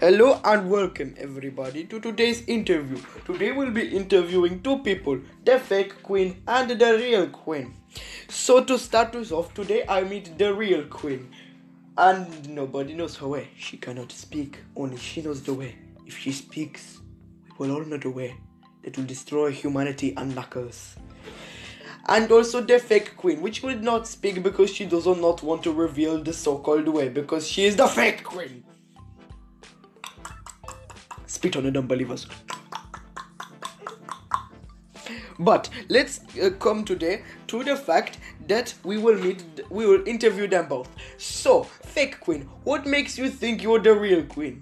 Hello and welcome everybody to today's interview. Today we'll be interviewing two people, the fake queen and the real queen. So to start us off today, I meet the real queen. And nobody knows her way. She cannot speak, only she knows the way. If she speaks, we will all know the way that will destroy humanity and knuckles. And also the fake queen, which will not speak because she does not want to reveal the so-called way, because she is the fake queen. Spit on the unbelievers. But let's come today to the fact that we will interview them both. So, fake queen, what makes you think you're the real queen?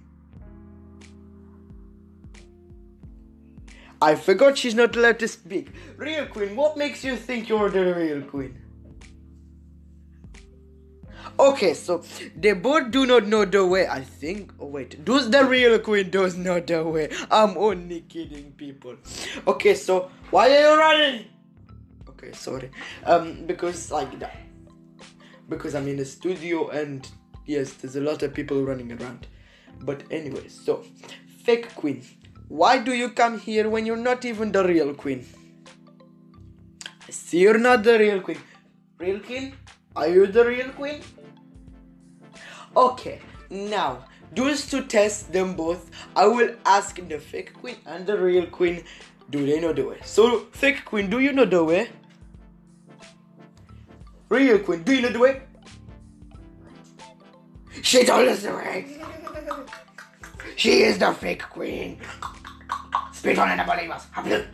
I forgot she's not allowed to speak. Real queen, what makes you think you're the real queen? Okay, so they both do not know the way, I think. Oh wait, does the real queen does know the way? I'm only kidding, people. Okay, so why are you running? Okay, sorry. Because like that. Because I'm in the studio and yes, there's a lot of people running around. But anyway, so fake queen. Why do you come here when you're not even the real queen? I see you're not the real queen. Real queen? Are you the real queen? Okay, now, just to test them both, I will ask the fake queen and the real queen, do they know the way? So, fake queen, do you know the way? Real queen, do you know the way? She told us the way. She is the fake queen. Spit on the believers.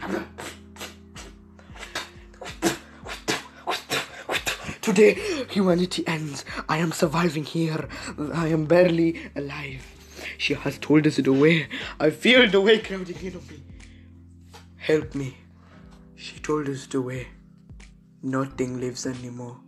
Today, humanity ends. I am surviving here. I am barely alive. She has told us the way. I feel the way crowding in on me. Help me. She told us the way. Nothing lives anymore.